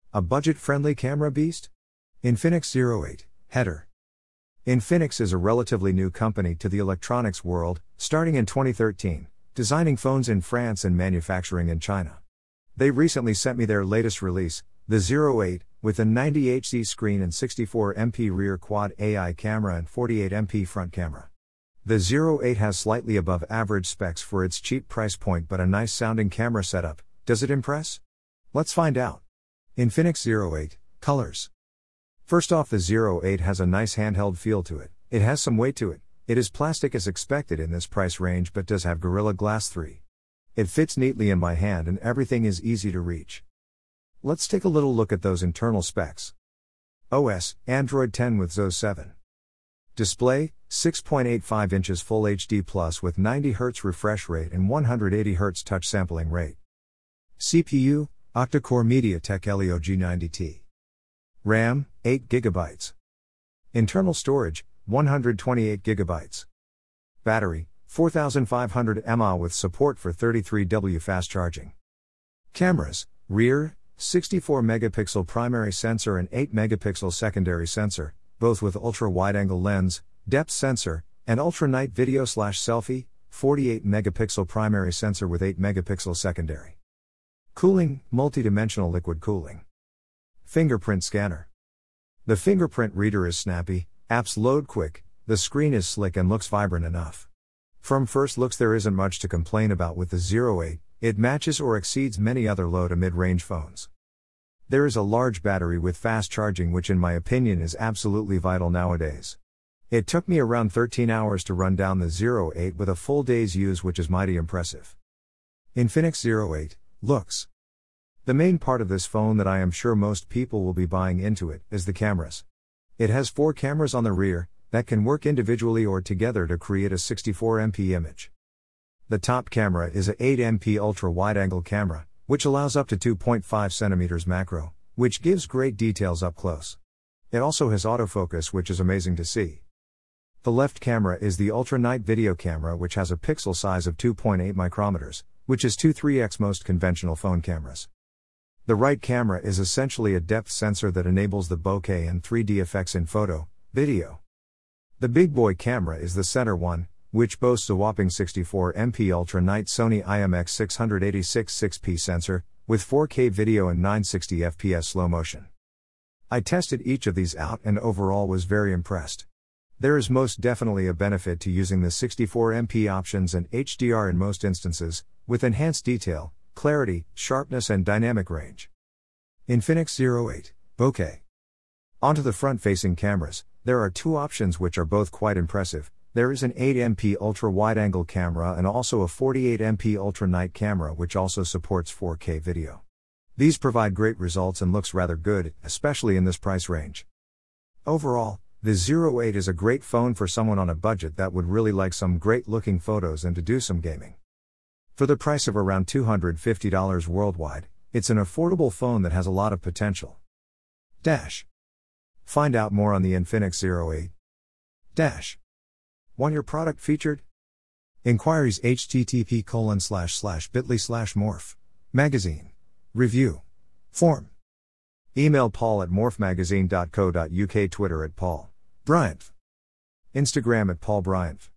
A budget-friendly camera beast? Infinix Zero 8, header. Infinix is a relatively new company to the electronics world, starting in 2013, designing phones in France and manufacturing in China. They recently sent me their latest release, the Zero 8, with a 90Hz screen and 64MP rear quad AI camera and 48MP front camera. The Zero 8 has slightly above average specs for its cheap price point but a nice sounding camera setup. Does it impress? Let's find out. Infinix Zero 8, colors. First off, the Zero 8 has a nice handheld feel to it. It has some weight to it. It is plastic as expected in this price range but does have Gorilla Glass 3. It fits neatly in my hand and everything is easy to reach. Let's take a little look at those internal specs. OS, Android 10 with XOS 7. Display, 6.85 inches Full HD Plus with 90Hz refresh rate and 180Hz touch sampling rate. CPU, octa-core MediaTek Helio G90T. RAM, 8GB. Internal storage, 128GB. Battery, 4500 mAh with support for 33W fast charging. Cameras, rear, 64-megapixel primary sensor and 8-megapixel secondary sensor, both with ultra-wide-angle lens, depth sensor, and ultra-night video/selfie, 48-megapixel primary sensor with 8-megapixel secondary. Cooling, multi-dimensional liquid cooling. Fingerprint scanner. The fingerprint reader is snappy, apps load quick, the screen is slick and looks vibrant enough. From first looks there isn't much to complain about with the Zero 8, it matches or exceeds many other low to mid-range phones. There is a large battery with fast charging which in my opinion is absolutely vital nowadays. It took me around 13 hours to run down the Zero 8 with a full day's use, which is mighty impressive. Infinix Zero 8, looks. The main part of this phone that I am sure most people will be buying into it is the cameras. It has 4 cameras on the rear that can work individually or together to create a 64MP image. The top camera is a 8MP ultra-wide-angle camera, which allows up to 2.5 cm macro, which gives great details up close. It also has autofocus, which is amazing to see. The left camera is the ultra-night video camera, which has a pixel size of 2.8 micrometers, which is 2-3x most conventional phone cameras. The right camera is essentially a depth sensor that enables the bokeh and 3D effects in photo, video. The big boy camera is the center one, which boasts a whopping 64MP ultra-night Sony IMX686 6P sensor, with 4K video and 960fps slow motion. I tested each of these out and overall was very impressed. There is most definitely a benefit to using the 64MP options and HDR in most instances, with enhanced detail, clarity, sharpness and dynamic range. Infinix Zero 8, bokeh. Onto the front-facing cameras, there are 2 options which are both quite impressive. There is an 8MP ultra-wide-angle camera and also a 48MP ultra-night camera which also supports 4K video. These provide great results and looks rather good, especially in this price range. Overall, the Zero 8 is a great phone for someone on a budget that would really like some great-looking photos and to do some gaming. For the price of around $250 worldwide, it's an affordable phone that has a lot of potential. Find out more on the Infinix Zero 8. Want your product featured? Inquiries http://bit.ly/morph magazine review form. Email paul@morphmagazine.co.uk. Twitter @paul bryant. Instagram @paulbryant.